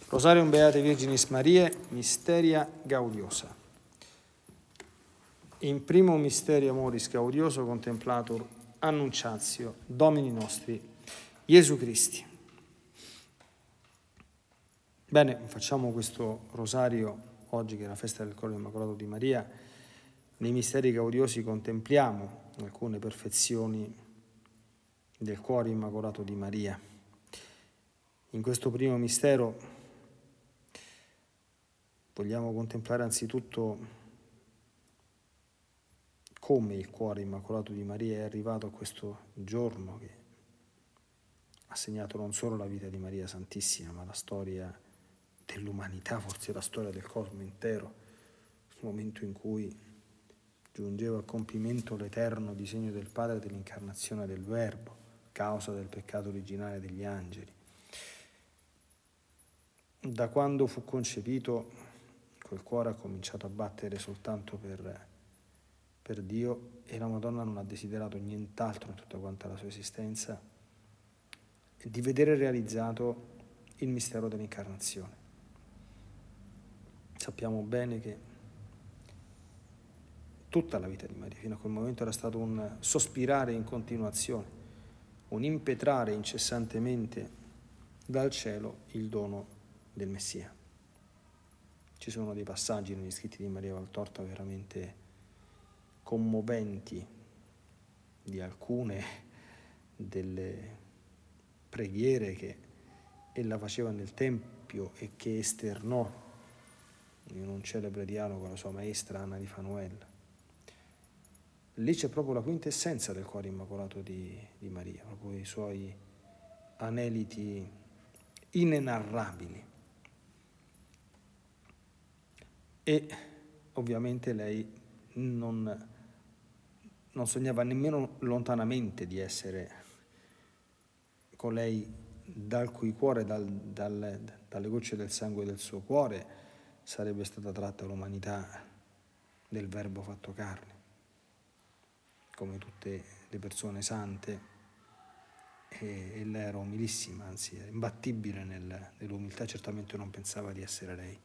Rosarium Beate Virginis Mariae, Mysteria Gaudiosa. In primo mysterio amoris gaudioso contemplatur annunciatio Domini nostri Gesù Christi. Bene, facciamo questo rosario oggi che è la festa del Cuore Immacolato di Maria. Nei misteri gaudiosi contempliamo alcune perfezioni del Cuore Immacolato di Maria. In questo primo mistero vogliamo contemplare anzitutto come il Cuore Immacolato di Maria è arrivato a questo giorno che ha segnato non solo la vita di Maria Santissima, ma la storia dell'umanità, forse la storia del cosmo intero, il momento in cui giungeva a compimento l'eterno disegno del Padre dell'incarnazione del Verbo, causa del peccato originale degli angeli. Da quando fu concepito, quel cuore ha cominciato a battere soltanto per Dio e la Madonna non ha desiderato nient'altro in tutta quanta la sua esistenza di vedere realizzato il mistero dell'incarnazione. Sappiamo bene che tutta la vita di Maria fino a quel momento era stato un sospirare in continuazione, un impetrare incessantemente dal cielo il dono del Messia. Ci sono dei passaggi negli scritti di Maria Valtorta veramente commoventi di alcune delle preghiere che ella faceva nel Tempio e che esternò in un celebre dialogo con la sua maestra Anna di Fanuella. Lì c'è proprio la quintessenza del Cuore Immacolato di Maria, proprio i suoi aneliti inenarrabili. E ovviamente lei non sognava nemmeno lontanamente di essere colei dal cui cuore, dalle gocce del sangue del suo cuore, sarebbe stata tratta l'umanità del Verbo fatto carne. Come tutte le persone sante, ella era umilissima, anzi era imbattibile nell'umiltà, certamente non pensava di essere lei.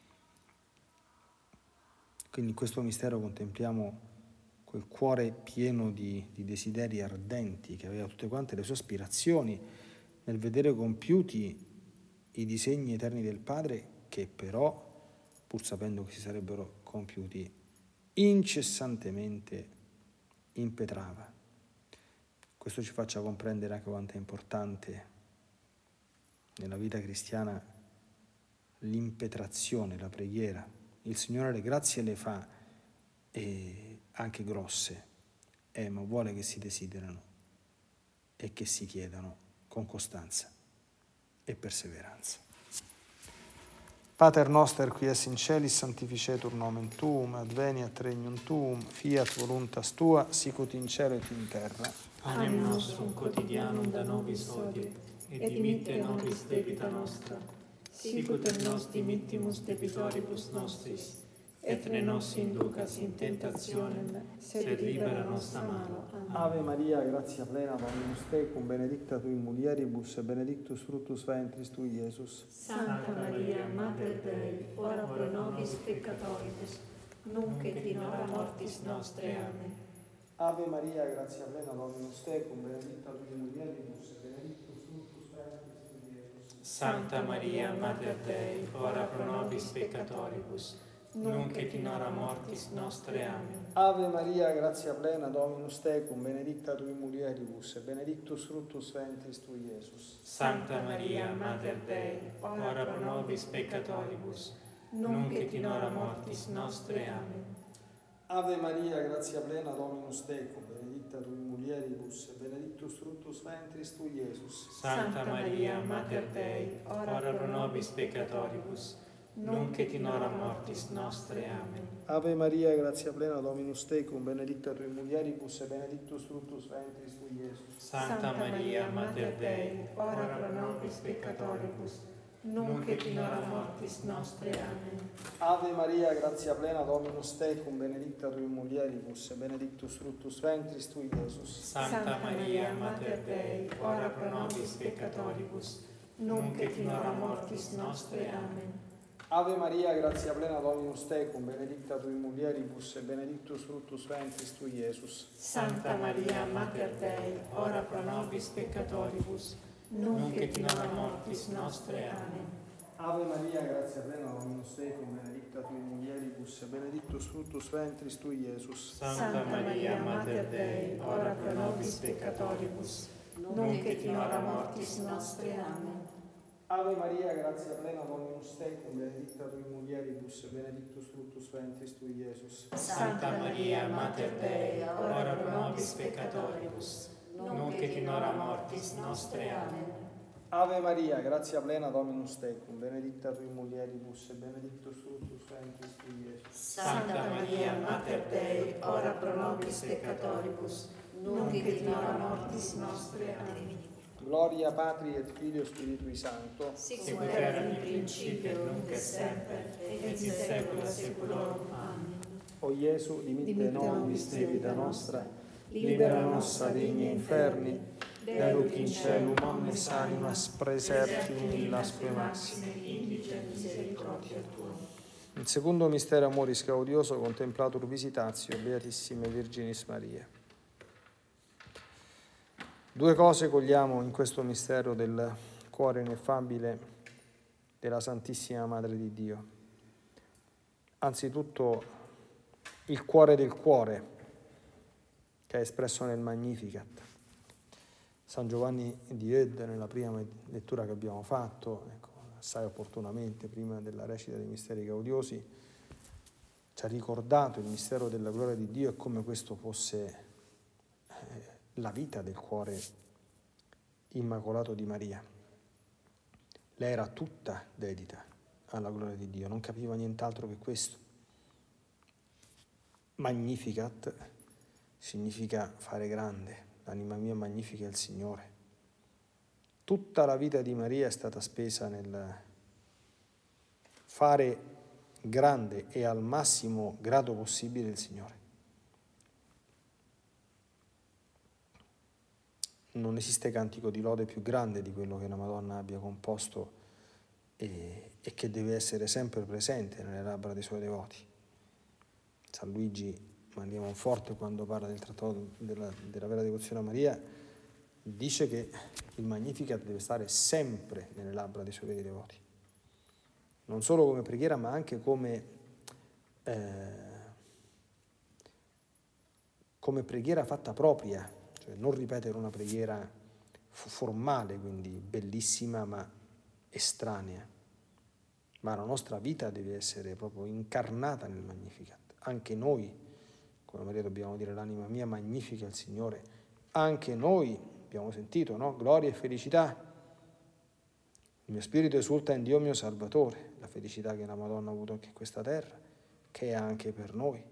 Quindi in questo mistero contempliamo quel cuore pieno di desideri ardenti che aveva tutte quante le sue aspirazioni nel vedere compiuti i disegni eterni del Padre che però, pur sapendo che si sarebbero compiuti, incessantemente impetrava. Questo ci faccia comprendere anche quanto è importante nella vita cristiana l'impetrazione, la preghiera. Il Signore le grazie le fa, e anche grosse, ma vuole che si desiderano e che si chiedano con costanza e perseveranza. Pater noster qui es in celis, sanctificetur nomen tuum, adveniat regnum tuum, fiat voluntas tua, sicut in cielo et in terra. Panem nostrum quotidianum da nobis hodie, et dimitte nobis debita nostra, sicut et nos dimittimus debitoribus nostris, et ne nos inducas in tentationem, sed libera nos a malo. Amen. Ave Maria, gratia plena, Dominus tecum, benedicta tui mulieribus, e benedictus fructus ventris tui, Iesus. Santa Maria, Mater Dei, ora pro nobis peccatoribus, nunc et in hora mortis nostre. Amen. Ave Maria, gratia plena, Dominus tecum, benedicta tui mulieribus, e benedictus fructus ventris tui, Iesus. Santa Maria, Mater Dei, ora pro nobis peccatoribus, nunc et in hora mortis nostre. Amen. Ave Maria, gratia plena, Dominus tecum, benedicta tui mulieribus, e benedictus fructus ventris tui, Iesus. Santa Maria, Mater Dei, ora pro nobis peccatoribus, nunc et in hora mortis nostre. Amen. Ave Maria, gratia plena, Dominus tecum, benedicta tui mulieribus, e benedictus fructus ventris tui, Iesus. Santa Maria, Mater Dei, ora pro nobis peccatoribus, nunc et in hora mortis nostre. Amen. Ave Maria, gratia plena, Dominus tecum, benedicta tui mulieribus, e benedictus fructus ventris tui, Iesus. Santa Maria, Mater Dei, ora pro nobis peccatoribus, nunc et in hora mortis nostre. Amen. Ave Maria, gratia plena, Dominus tecum, benedicta tui mulieribus, e benedictus fructus ventris tui, Iesus. Santa Maria, Mater Dei, ora pro nobis peccatoribus, nunc et in hora mortis nostre. Amen. Ave Maria, grazia plena, Dominus tecum, benedicta tui mulieribus, e benedictus fructus ventris tui, Iesus. Santa Maria, Mater Dei, ora pro nobis peccatoribus, nunc et in hora mortis nostre. Amen. Ave Maria, grazia plena, Dominus tecum, benedicta tui mulieribus, e benedictus fructus ventris tui, Iesus. Santa Maria, Mater Dei, ora pro nobis peccatoribus, nunc et in hora mortis nostre. Amen. Ave Maria, grazia plena, Dominus tecum, benedicta tui mulieribus, e benedictus fructus ventris tui, Iesus. Santa Maria, Mater Dei, ora pro nobis peccatoribus, nunc et in hora mortis nostre. Amen. Ave Maria, grazia plena, Dominus tecum, benedicta tui mulieribus, e benedictus fructus ventris tui, Iesus. Santa Maria, Mater Dei, ora pro nobis peccatoribus, nunc et in hora mortis nostre. Amen. Gloria Patri et Filio Spiritui Sancto, Sicut erat in principio, nunc et semper, et in saecula saeculorum. Amen. O Gesù, dimitte nobis de vita nostra, libera nos a digni inferni, deduc in celum omnes animas, praesertim illasque maxime. Indice misericordia tua. Il secondo mistero amoris gaudioso, contemplatur visitatio Beatissime Virginis Maria. Due cose cogliamo in questo mistero del cuore ineffabile della Santissima Madre di Dio. Anzitutto il cuore del cuore, che è espresso nel Magnificat. San Giovanni di Ede, nella prima lettura che abbiamo fatto, assai opportunamente, prima della recita dei misteri gaudiosi, ci ha ricordato il mistero della gloria di Dio e come questo fosse la vita del cuore immacolato di Maria. Lei era tutta dedita alla gloria di Dio, non capiva nient'altro che questo. Magnificat significa fare grande, l'anima mia magnifica il Signore. Tutta la vita di Maria è stata spesa nel fare grande e al massimo grado possibile il Signore. Non esiste cantico di lode più grande di quello che la Madonna abbia composto e che deve essere sempre presente nelle labbra dei suoi devoti. San Luigi Maria Monforte, quando parla del trattato della vera devozione a Maria, dice che il Magnificat deve stare sempre nelle labbra dei suoi veri devoti. Non solo come preghiera, ma anche come preghiera fatta propria. Cioè non ripetere una preghiera formale, quindi bellissima ma estranea, ma la nostra vita deve essere proprio incarnata nel Magnificat. Anche noi, come Maria, dobbiamo dire l'anima mia magnifica il Signore. Anche noi abbiamo sentito, no? Gloria e felicità. Il mio spirito esulta in Dio mio Salvatore, la felicità che la Madonna ha avuto anche in questa terra, che è anche per noi.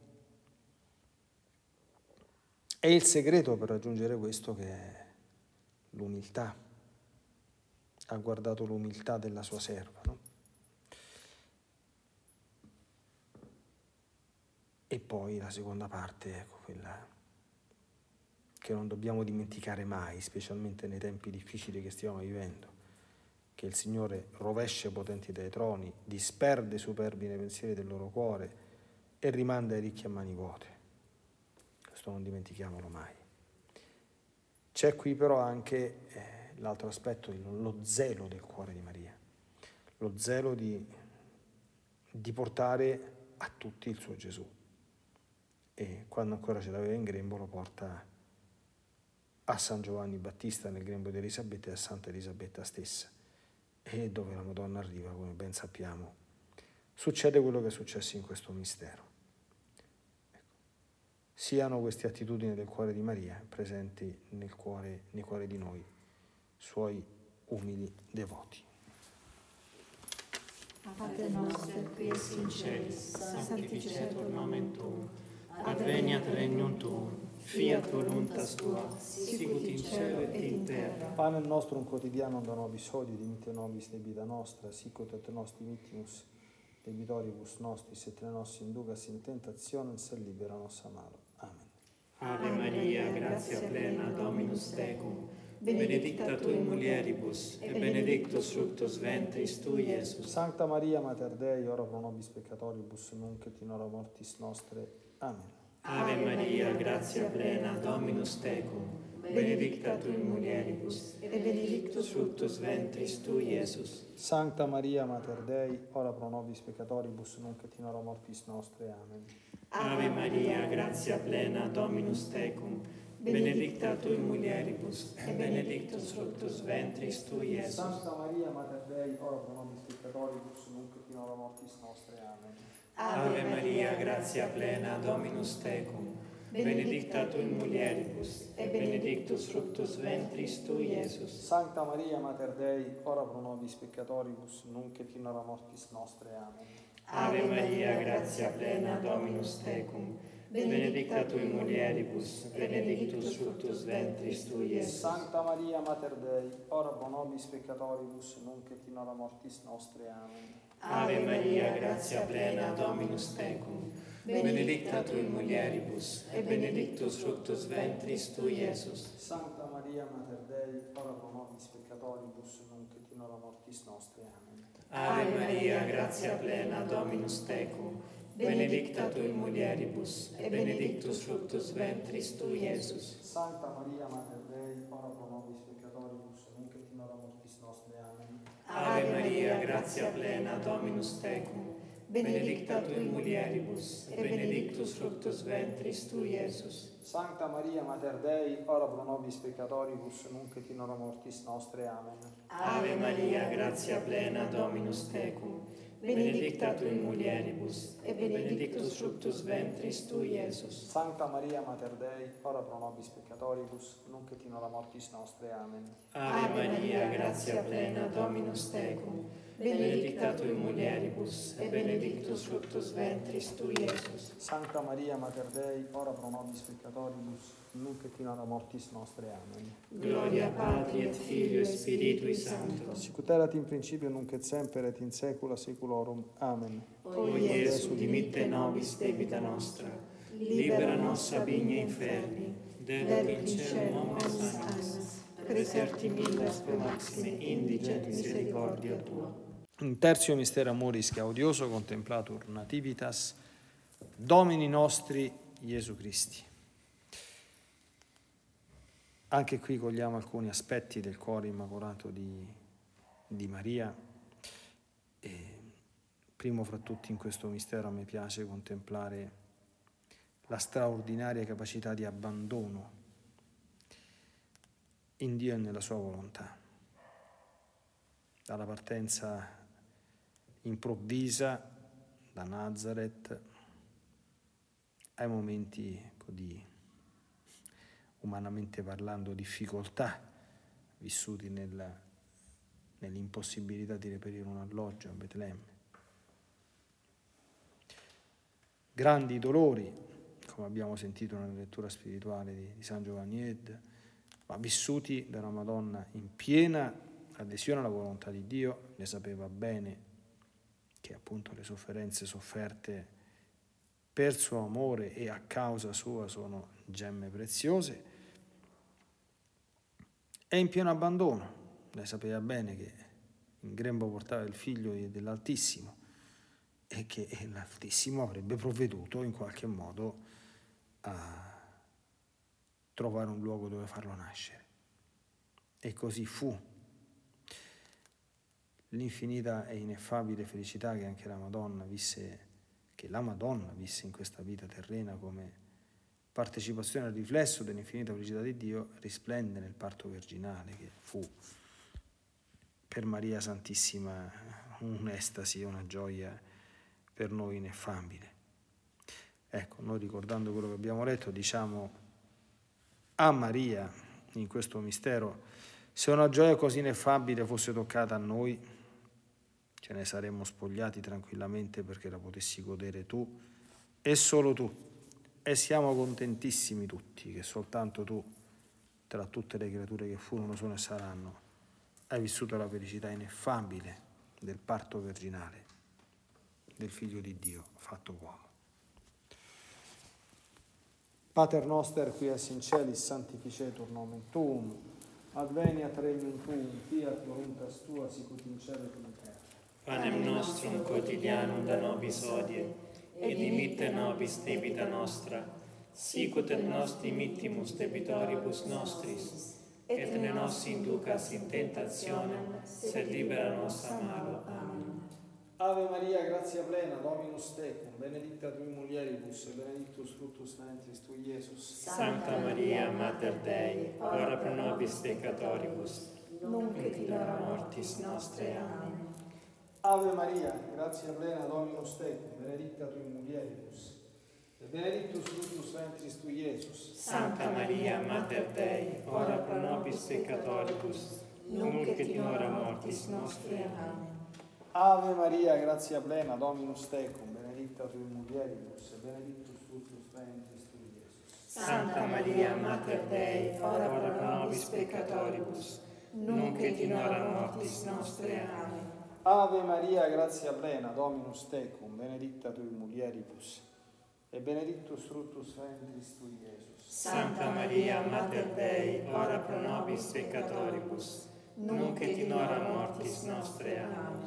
È il segreto per raggiungere questo che è l'umiltà. Ha guardato l'umiltà della sua serva, no? E poi la seconda parte, ecco, quella che non dobbiamo dimenticare mai, specialmente nei tempi difficili che stiamo vivendo, che il Signore rovescia i potenti dai troni, disperde i superbi nei pensieri del loro cuore e rimanda i ricchi a mani vuote. Questo non dimentichiamolo mai. C'è qui però anche l'altro aspetto, lo zelo del cuore di Maria, lo zelo di portare a tutti il suo Gesù. E quando ancora ce l'aveva in grembo lo porta a San Giovanni Battista nel grembo di Elisabetta e a Santa Elisabetta stessa. E dove la Madonna arriva, come ben sappiamo, succede quello che è successo in questo mistero. Siano queste attitudini del cuore di Maria presenti nei cuori di noi, suoi umili devoti. Pater noster, qui es in celis, sanctificetur nomen tuum, adveniat regnum tuum, fiat voluntas tua, sicut in cielo et in terra. Panem nostrum quotidianum da nobis hodie, dimitte nobis debita nostra, sicut et nos dimittimus debitoribus nostris, et ne nos inducas in tentationem, sed libera nos a malo. Amen. Ave Maria, gratia plena, Dominus tecum, benedicta tui mulieribus, et benedictus fructus ventris tui, Iesus. Sancta Maria, Mater Dei, ora pro nobis peccatoribus, nunc et in hora mortis nostre. Amen. Ave Maria, gratia plena, Dominus tecum, benedicta tui mulieribus, et benedictus fructus ventris tui, Iesus. Sancta Maria, Mater Dei, ora pro nobis peccatoribus, nunc et in hora mortis nostre. Amen. Ave Maria, gratia plena, Dominus tecum, benedicta tui mulieribus, et benedictus fructus ventris tui, Iesus. Sancta Maria, Mater Dei, ora pro nobis peccatoribus, nunc et in hora mortis nostre. Amen. Ave Maria, gratia plena, Dominus tecum, benedicta tui mulieribus, et benedictus fructus ventris tui, Iesus. Sancta Maria, Mater Dei, ora pro nobis peccatoribus, nunc et in hora mortis nostre. Amen. Ave Maria, gratia plena, Dominus tecum, benedicta tui mulieribus, et benedictus fructus ventris tui, Iesus. Sancta Maria, Mater Dei, ora pro nobis peccatoribus, nunc et in hora mortis nostre. Amen. Ave Maria, gratia plena, Dominus tecum, benedicta tui mulieribus, et benedictus fructus ventris tui, Iesus. Sancta Maria, Mater Dei, ora pro nobis peccatoribus, nunc et in hora mortis nostre. Amen. Ave Maria, gratia plena, Dominus tecum, benedicta tui mulieribus, et benedictus fructus ventris tui, Iesus. Sancta Maria, Mater Dei, ora pro nobis peccatoribus, nunc et in hora mortis nostre. Amen. Ave Maria, gratia plena, Dominus tecum, benedicta tui mulieribus, et benedictus fructus ventris tui, Iesus. Sancta Maria, Mater Dei, ora pro nobis peccatoribus, nunc et in hora mortis nostre. Amen. Ave Maria, gratia plena, Dominus tecum, benedicta tui mulieribus, et benedictus fructus ventris tui, Iesus. Sancta Maria, Mater Dei, ora pro nobis peccatoribus, nunc et in hora mortis nostre. Amen. Ave Maria, gratia plena, Dominus tecum, benedicta tui mulieribus, et benedictus fructus ventris tui, Iesus. Sancta Maria, Mater Dei, ora pro nobis peccatoribus, nunc et in hora mortis nostre. Amen. Gloria Patri et Filio et Spiritui Sancto. Sicut erat in principio, nunc et semper, et in saecula saeculorum. Amen. O Iesu, dimitte nobis debita nostra, libera nos ab igne inferni, deduc in caelum omnes anima, preserti millas pro maxime indigent misericordia Tua. In tertio mistero amoris gaudioso contemplatur nativitas Domini nostri Iesu Christi. Anche qui cogliamo alcuni aspetti del cuore immacolato di Maria. E primo fra tutti in questo mistero a me piace contemplare la straordinaria capacità di abbandono in Dio e nella sua volontà. Dalla partenza improvvisa da Nazareth ai momenti di, umanamente parlando, difficoltà vissuti nell'impossibilità di reperire un alloggio a Betlemme. Grandi dolori, come abbiamo sentito nella lettura spirituale di San Giovanni Ed, ma vissuti da una Madonna in piena adesione alla volontà di Dio. Ne sapeva bene che appunto le sofferenze sofferte per suo amore e a causa sua sono gemme preziose, e in pieno abbandono. Lei sapeva bene che in grembo portava il figlio dell'Altissimo e che l'Altissimo avrebbe provveduto in qualche modo a trovare un luogo dove farlo nascere. E così fu. L'infinita e ineffabile felicità che anche la Madonna visse in questa vita terrena come partecipazione al riflesso dell'infinita felicità di Dio, risplende nel parto virginale, che fu per Maria Santissima un'estasi, una gioia per noi ineffabile. Ecco, noi ricordando quello che abbiamo letto, diciamo a Maria in questo mistero: se una gioia così ineffabile fosse toccata a noi, ce ne saremmo spogliati tranquillamente perché la potessi godere tu e solo tu. E siamo contentissimi tutti che soltanto tu, tra tutte le creature che furono, sono e saranno, hai vissuto la felicità ineffabile del parto virginale del Figlio di Dio fatto uomo. Pater noster, qui es in celis, sanctificetur nomen tuum, Adveniat regnum tuum, fiat voluntas tua, sicut in cielo et in terra. Panem nostrum quotidianum da nobis hodie, et dimitte nobis debita nostra, sicut et nos dimittimus debitoribus nostris, et ne nos inducas in tentationem, sed libera nos a malo. Amen. Ave Maria, gratia plena, Dominus tecum, benedicta tui mulieribus, et benedictus fructus ventris tui, Iesus. Sancta Maria, Mater Dei, ora pro nobis peccatoribus, nunc et in hora mortis nostre. Amen. Ave Maria, gratia plena, Dominus tecum, benedicta tui mulieribus, et benedictus fructus ventris tui, Iesus. Sancta Maria, Mater Dei, ora pro nobis peccatoribus, nunc et in hora mortis nostre. Amen. Ave Maria, gratia plena, Dominus tecum, benedicta tui mulieribus, et benedictus fructus ventris tui, Iesus. Santa Maria, Mater Dei, ora pro nobis peccatoribus, nunc et in hora mortis nostre. Amen. Ave Maria, gratia plena, Dominus tecum, benedicta tui mulieribus, et benedictus fructus ventris tui, Iesus. Santa Maria, Mater Dei, ora pro nobis peccatoribus, nunc et in hora mortis nostre. Amen.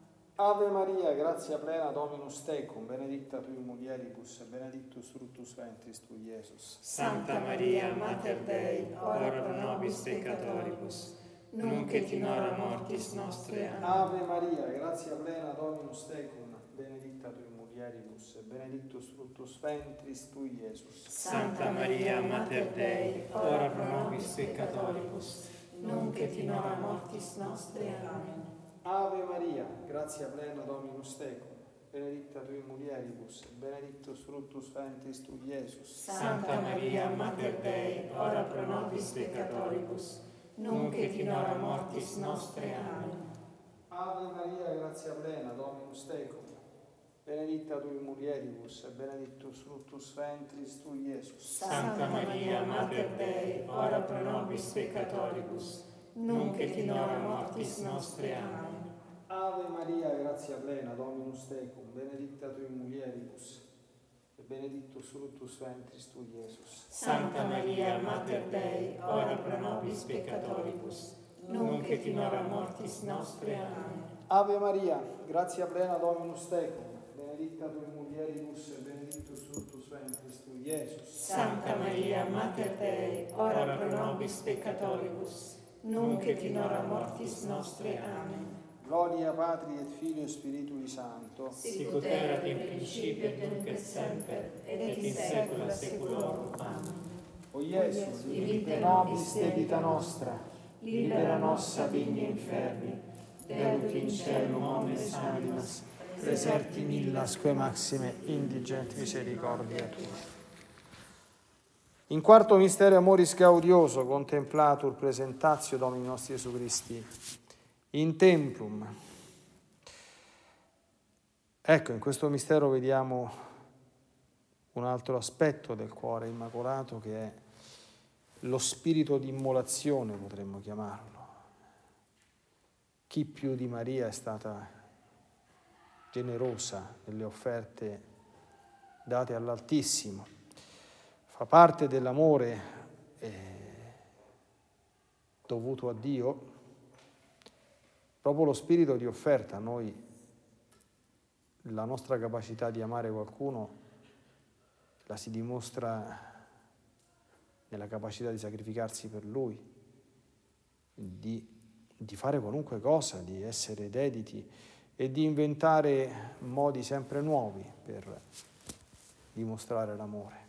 Ave Maria, gratia plena, Dominus tecum, benedicta tui mulieribus, et benedictus fructus ventris tui, Iesus. Santa Maria, Mater Dei, ora pro nobis peccatoribus, nunc et in hora mortis nostre. Amen. Ave Maria, gratia plena, Dominus tecum, benedicta tui mulieribus, et benedictus fructus ventris tui, Iesus. Santa Maria, Mater Dei, ora pro nobis peccatoribus, nunc et in hora mortis nostre. Amen. Ave Maria, gratia plena, Dominus tecum, benedicta tui mulieribus, et benedictus fructus ventris tui, Iesus. Santa Maria, Mater Dei, ora pro nobis peccatoribus, nunc et in hora mortis nostre. Amen. Ave Maria, gratia plena, Dominus tecum, benedicta tui mulieribus, et benedictus fructus ventris tui, Iesus. Santa Maria, Mater Dei, ora pro nobis peccatoribus, nunc et in hora mortis nostre. Amen. Ave Maria, gratia plena, Dominus tecum, benedicta tui mulieribus, et benedictus fructus ventris tui, Iesus. Santa Maria, Mater Dei, ora pro nobis peccatoribus, nunc et in hora mortis nostre. Amen. Ave Maria, gratia plena, Dominus tecum, benedicta tui mulieribus, et benedictus fructus ventris tui, Iesus. Santa Maria, Mater Dei, ora pro nobis peccatoribus, nunc et in hora mortis nostre. Amen. Gloria Patri et Filio et Spiritui Sancto, Sicut erat in principio et nunc et semper, et in saecula saeculorum. Amen. O Iesus, dimitte nobis debita nostra, Libera nos a vigni inferni, deduc in celum omnes animas, preserti millasque maxime indigent misericordia tua. In quarto mistero amoris gaudioso contemplatur presentatio Domini nostri Gesù Christi in templum. Ecco, in questo mistero vediamo un altro aspetto del cuore immacolato, che è lo spirito di immolazione, potremmo chiamarlo. Chi più di Maria è stata generosa nelle offerte date all'Altissimo. Fa parte dell'amore dovuto a Dio proprio lo spirito di offerta. Noi, la nostra capacità di amare qualcuno la si dimostra nella capacità di sacrificarsi per lui, di fare qualunque cosa, di essere dediti e di inventare modi sempre nuovi per dimostrare l'amore.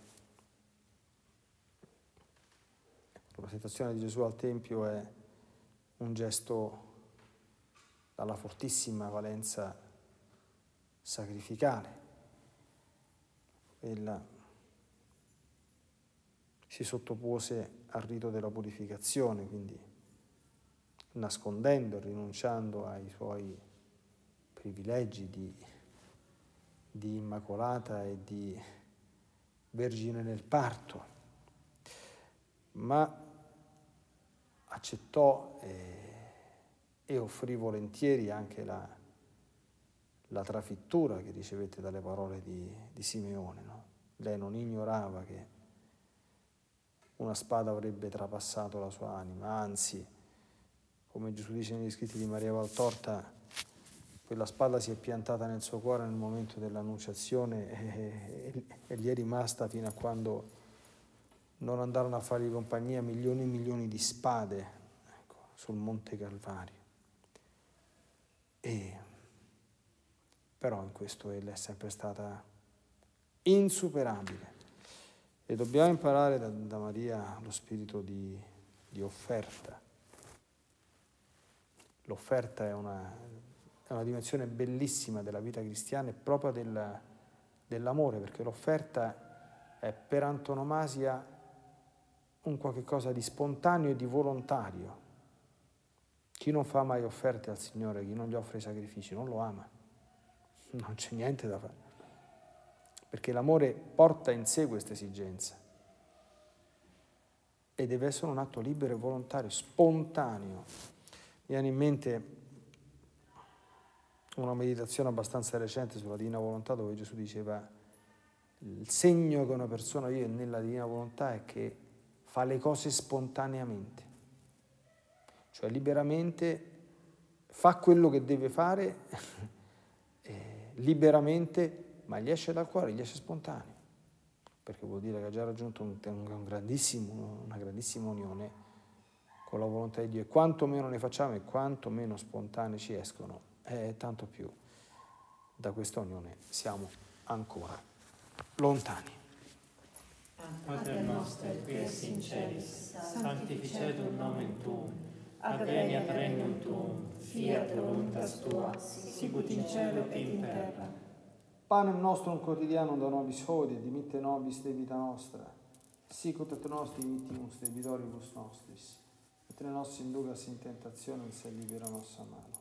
La presentazione di Gesù al Tempio è un gesto dalla fortissima valenza sacrificale. Ella si sottopose al rito della purificazione, quindi nascondendo, rinunciando ai suoi privilegi di immacolata e di vergine nel parto, ma accettò e offrì volentieri anche la trafittura che ricevette dalle parole di Simeone, no? Lei non ignorava che una spada avrebbe trapassato la sua anima, anzi, come Gesù dice negli scritti di Maria Valtorta, quella spada si è piantata nel suo cuore nel momento dell'annunciazione e gli è rimasta fino a quando non andarono a fargli compagnia milioni e milioni di spade, ecco, sul Monte Calvario. Però in questo ella è sempre stata insuperabile. E dobbiamo imparare da Maria lo spirito di offerta. L'offerta è una dimensione bellissima della vita cristiana e proprio dell'amore, perché l'offerta è per antonomasia un qualche cosa di spontaneo e di volontario. Chi non fa mai offerte al Signore, chi non gli offre i sacrifici, non lo ama. Non c'è niente da fare. Perché l'amore porta in sé questa esigenza. E deve essere un atto libero e volontario, spontaneo. Mi viene in mente una meditazione abbastanza recente sulla Divina Volontà, dove Gesù diceva: il segno che una persona vive nella Divina Volontà è che fa le cose spontaneamente, cioè liberamente fa quello che deve fare liberamente, ma gli esce dal cuore, gli esce spontaneo, perché vuol dire che ha già raggiunto una grandissima unione con la volontà di Dio, e quanto meno ne facciamo e quanto meno spontanei ci escono, tanto più da questa unione siamo ancora lontani. Pater noster, qui es in celis, sanctificetur nomen tuum, adveniat regnum tuum, fiat voluntas tua, sicut in cielo et in terra. Panem nostrum quotidianum da nobis hodie, dimitte nobis debita nostra, sicut et nos dimittimus debitoribus nostris, et ne nos inducas in tentationem, sed libera nos a malo.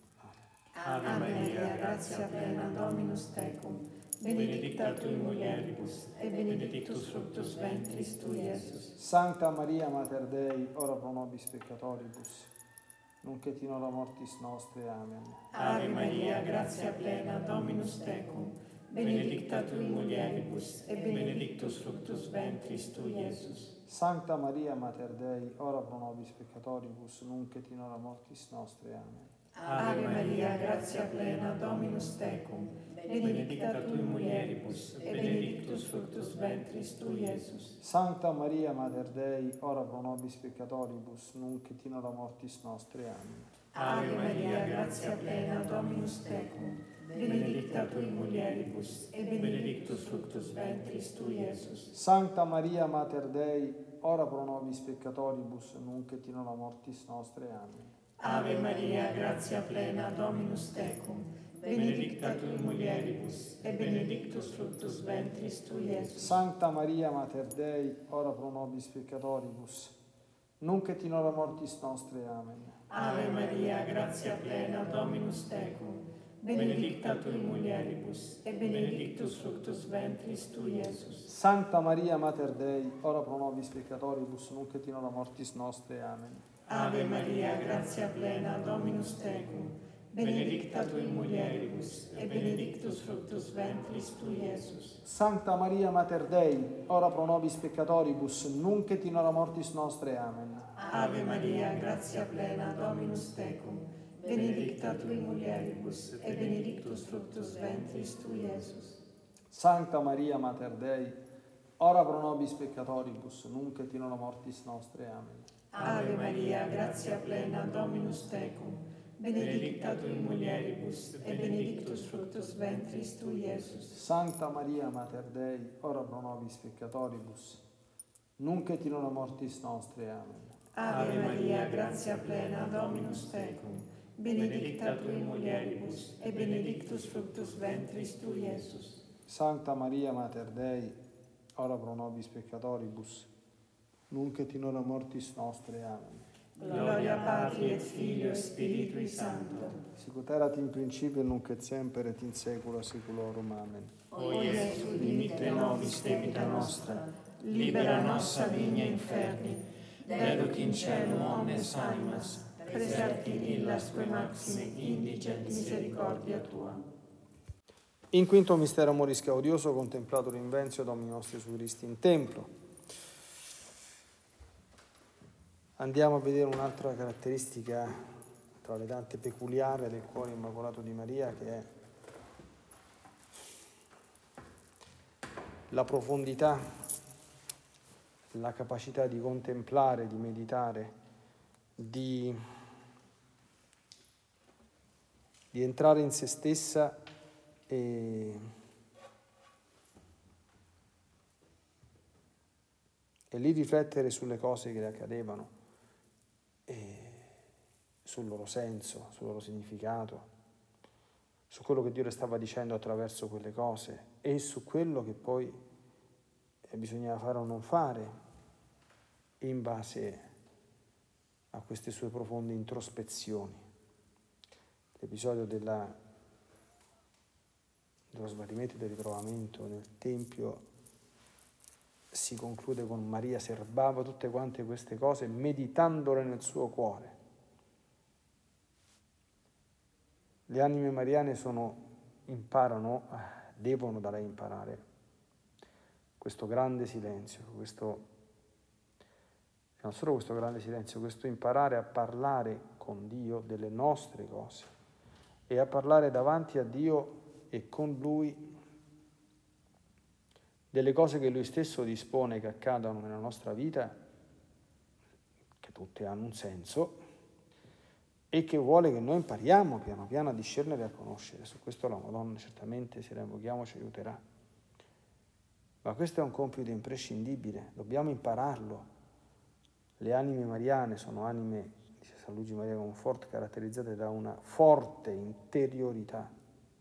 Ave Maria, gratia plena, Dominus tecum, benedicta tui mulieribus, et benedictus fructus ventris tui, Iesus. Sancta Maria Mater Dei, ora pro nobis peccatoribus, nunc et in hora mortis nostre. Amen. Ave Maria, gratia plena, Dominus tecum, benedicta tui mulieribus, et benedictus fructus ventris tui, Iesus. Sancta Maria Mater Dei, ora pro nobis peccatoribus, nunc et in hora mortis nostre. Amen. Ave Maria, gratia plena, Dominus tecum, benedicta tui mulieribus, et benedictus fructus ventris tui, Iesus. Sancta Maria Mater Dei, ora pro nobis peccatoribus, nunc et in hora mortis nostre. Amen. Ave Maria, gratia plena, Dominus tecum, benedicta tui mulieribus, et benedictus fructus ventris tui, Iesus. Sancta Maria Mater Dei, ora pro nobis peccatoribus, nunc et in hora mortis nostre. Amen. Ave Maria, gratia plena, Dominus tecum, benedicta tui mulieribus, et benedictus fructus ventris tui, Iesus. Sancta Maria Mater Dei, ora pro nobis peccatoribus, nunc et in hora mortis nostre. Amen. Ave Maria, gratia plena, Dominus tecum, benedicta tui mulieribus, et benedictus fructus ventris tui, Iesus. Sancta Maria Mater Dei, ora pro nobis peccatoribus, nunc et in hora mortis nostre. Amen. Ave Maria, gratia plena, Dominus tecum, benedicta tui mulieribus, et benedictus fructus ventris tui, Iesus. Sancta Maria Mater Dei, ora pro nobis peccatoribus, nunc et in hora mortis nostre. Amen. Ave Maria, gratia plena, Dominus tecum, benedicta tui mulieribus, et benedictus fructus ventris tui, Iesus. Sancta Maria Mater Dei, ora pro nobis peccatoribus, nunc et in hora mortis nostre. Amen. Ave Maria, gratia plena, Dominus tecum, benedicta tui mulieribus, et benedictus fructus ventris tui, Iesus. Sancta Maria Mater Dei, ora pro nobis peccatoribus, nunc et in hora mortis nostre. Amen. Ave Maria, gratia plena, Dominus tecum, benedicta tui mulieribus, et benedictus fructus ventris tui, Iesus. Sancta Maria Mater Dei, ora pro nobis peccatoribus, nunc et in hora mortis nostre. Amen. Gloria Patri et Filio et Spiritui Sancto. Sicut erat in principio, nunc et semper, et in saecula saeculorum. Amen. O Iesu, dimitte nobis debita nostra, libera nos a digna inferni, deduc in cielo omnes animas, preserti illas quae maxime indigent misericordia tua. In quinto mistero amoris che, odioso contemplato l'invenzio Domini nostri Gesù Christi in templo. Andiamo a vedere un'altra caratteristica tra le tante peculiari del cuore immacolato di Maria, che è la profondità, la capacità di contemplare, di meditare, di entrare in se stessa e lì riflettere sulle cose che le accadevano, e sul loro senso, sul loro significato, su quello che Dio le stava dicendo attraverso quelle cose e su quello che poi bisognava fare o non fare in base a queste sue profonde introspezioni. L'episodio dello smarrimento e del ritrovamento nel Tempio si conclude con Maria serbava tutte quante queste cose meditandole nel suo cuore. Le anime mariane devono da lei imparare questo grande silenzio, non solo questo grande silenzio, questo imparare a parlare con Dio delle nostre cose e a parlare davanti a Dio e con Lui delle cose che Lui stesso dispone che accadano nella nostra vita, che tutte hanno un senso, e che vuole che noi impariamo piano piano a discernere e a conoscere. Su questo la Madonna certamente, se la invochiamo, ci aiuterà. Ma questo è un compito imprescindibile, dobbiamo impararlo. Le anime mariane sono anime, dice San Luigi Maria Conforto, caratterizzate da una forte interiorità.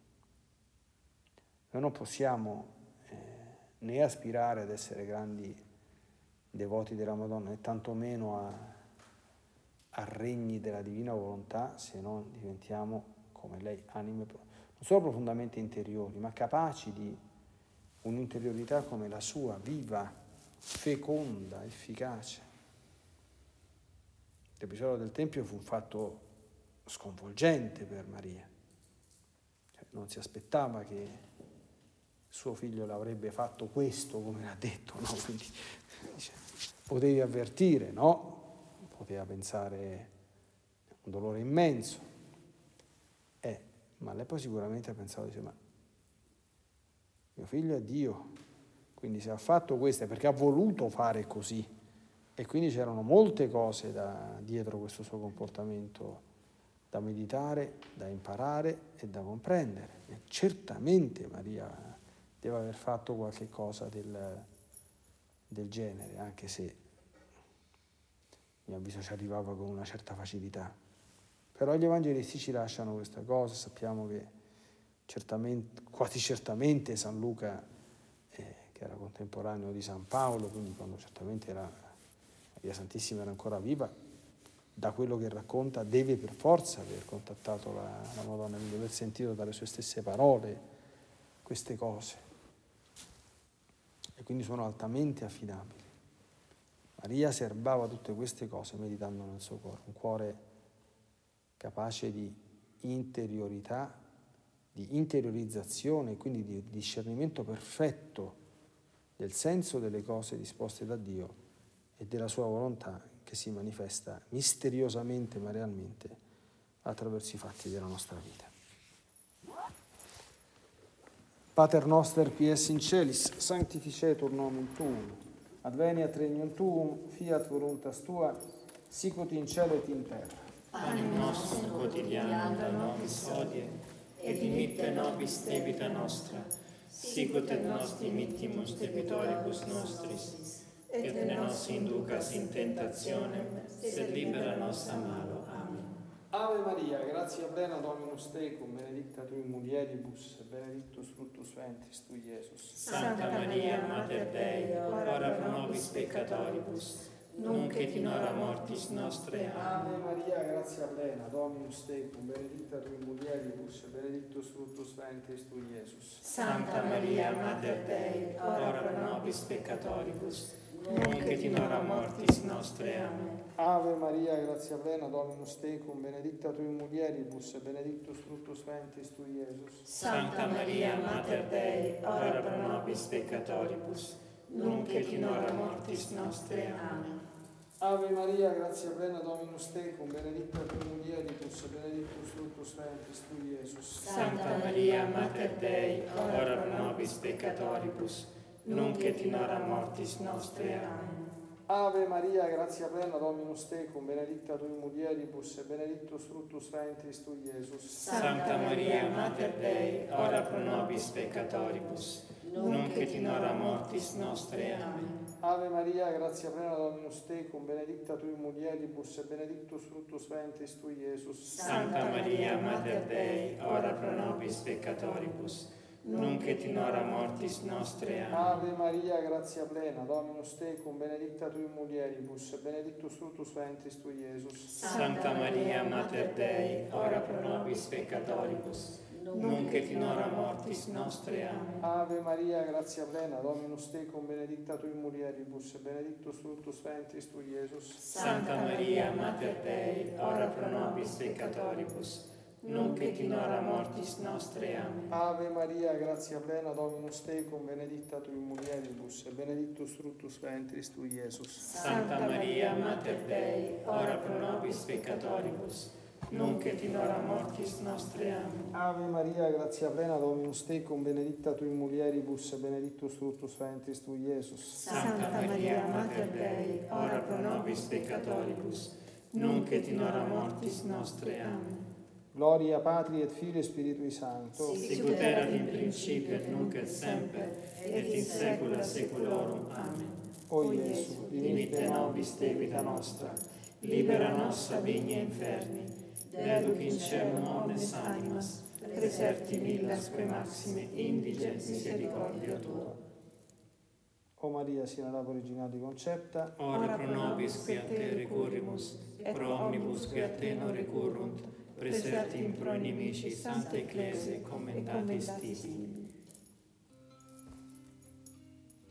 Noi non possiamo né aspirare ad essere grandi devoti della Madonna, né tantomeno a regni della divina volontà, se non diventiamo come lei, anime non solo profondamente interiori, ma capaci di un'interiorità come la sua, viva, feconda, efficace. L'episodio del Tempio fu un fatto sconvolgente per Maria. Non si aspettava che suo figlio l'avrebbe fatto questo, come l'ha detto, no? Quindi dice, potevi avvertire, no? Poteva pensare un dolore immenso, ma lei poi sicuramente ha pensato, dice, ma mio figlio è Dio, quindi se ha fatto questo è perché ha voluto fare così, e quindi c'erano molte cose dietro questo suo comportamento da meditare, da imparare e da comprendere. E certamente Maria deve aver fatto qualche cosa del genere, anche se a mio avviso ci arrivava con una certa facilità. Però gli evangelisti ci lasciano questa cosa, sappiamo che quasi certamente San Luca, che era contemporaneo di San Paolo, quindi quando certamente Maria Santissima era ancora viva, da quello che racconta deve per forza aver contattato la Madonna, quindi aver sentito dalle sue stesse parole queste cose. E quindi sono altamente affidabili. Maria serbava tutte queste cose meditando nel suo cuore, un cuore capace di interiorità, di interiorizzazione, quindi di discernimento perfetto del senso delle cose disposte da Dio e della sua volontà che si manifesta misteriosamente ma realmente attraverso i fatti della nostra vita. Pater noster qui es in celis, sanctificetur nomen tuum, adveniat regnum tuum, fiat voluntas tua, sicut in cielo et in terra. Panem nostrum quotidianum da nobis hodie, et dimitte nobis debita nostra, sicut et nos dimittimus debitoribus nostris, et ne nos inducas in tentationem, sed libera nos a malo. Amen. Ave Maria, gratia plena Dominus tecum, benedicta tui mulieribus, benedictus fructus ventris tui, Iesus. Santa Maria, Mater Dei, ora pro nobis peccatoribus, nunc et in hora mortis nostre. Ave Maria, gratia plena Dominus tecum, benedicta tui mulieribus, benedictus fructus ventris tui, Iesus. Santa Maria, Mater Dei, ora pro nobis peccatoribus, nunc et in hora mortis nostre. Amen. Ave Maria, gratia plena Dominus tecum, benedicta tui mulieribus, benedictus fructus ventris tui, Iesus. Santa Maria, Mater Dei, ora pro nobis peccatoribus, nunc et in hora mortis nostre. Amen. Ave Maria, grazia plena, Dominus tecum, benedicta tu mulieribus, e benedictus fructus ventris tui, Iesus. Santa Maria, Mater Dei, ora pro nobis peccatoribus, nunc et in hora mortis nostre. Amen. Ave Maria, grazia plena, Dominus tecum, benedicta tui mulieribus, e benedictus fructus ventris tui, Iesus. Santa Maria, Mater Dei, ora pro nobis peccatoribus, nunc et in hora mortis nostre. Amen. Ave Maria, grazia plena, Dominus tecum, benedicta tui mulieribus, e benedictus fructus ventris tui, Iesus. Santa Maria, Mater Dei, ora pro nobis peccatoribus, nunc et in hora mortis nostre. Amen. Ave Maria, grazia plena, Dominus tecum, benedicta tui mulieribus, e benedictus fructus ventris tui, Iesus. Santa Maria, Mater Dei, ora pro nobis peccatoribus, nunc et in hora mortis nostre. Amen. Ave Maria, grazia plena, Dominus tecum, benedicta tui mulieribus, e benedictus fructus ventris tui, Iesus. Santa Maria, Mater Dei, ora pro nobis peccatoribus, nunc et in hora mortis nostre. Amen. Ave Maria, grazia plena, Dominus tecum, benedicta tui mulieribus, e benedictus fructus ventris tui, Iesus. Santa Maria, Mater Dei, ora pro nobis peccatoribus, nunc et in hora mortis nostre. Amen. Ave Maria, grazia plena, Dominus tecum, benedicta tui mulieribus, e benedictus fructus ventris tui, Iesus. Santa Maria, Mater Dei, ora pro nobis peccatoribus, nunc et in hora mortis nostre. Amen. Gloria Patri et Filii et Spiritui Sancto. Sicut erat in principio et nunc et semper, et in saecula saeculorum. Amen. O Iesu, Dimitte nobis de vita nostra, libera nos a vigna inferni, deduc in caelum omnes animas, preserti millasque maxime, indige misericordia tua. O Maria, sine labo originali concepta, Ora pro nobis qui a te recurrimus, et pro omnibus qui a te non recurrunt, preserti in pro inimici, Santa Ecclesia, commendatis tibi.